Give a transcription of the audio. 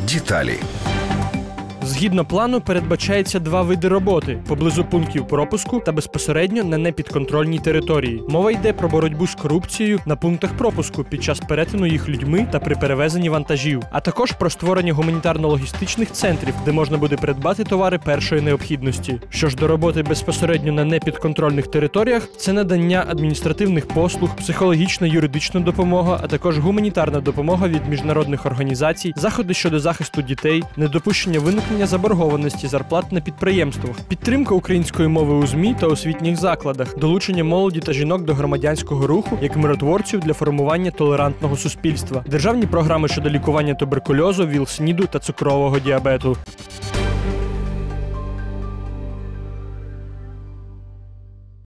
Деталі. Згідно плану, передбачається 2 види роботи – поблизу пунктів пропуску та безпосередньо на непідконтрольній території. Мова йде про боротьбу з корупцією на пунктах пропуску під час перетину їх людьми та при перевезенні вантажів, а також про створення гуманітарно-логістичних центрів, де можна буде придбати товари першої необхідності. Що ж до роботи безпосередньо на непідконтрольних територіях – це надання адміністративних послуг, психологічна, юридична допомога, а також гуманітарна допомога від міжнародних організацій, заходи щодо захисту дітей, недопущення виникнення заборгованості зарплат на підприємствах, підтримка української мови у ЗМІ та освітніх закладах, долучення молоді та жінок до громадянського руху як миротворців для формування толерантного суспільства, державні програми щодо лікування туберкульозу, ВІЛ-СНІДу та цукрового діабету.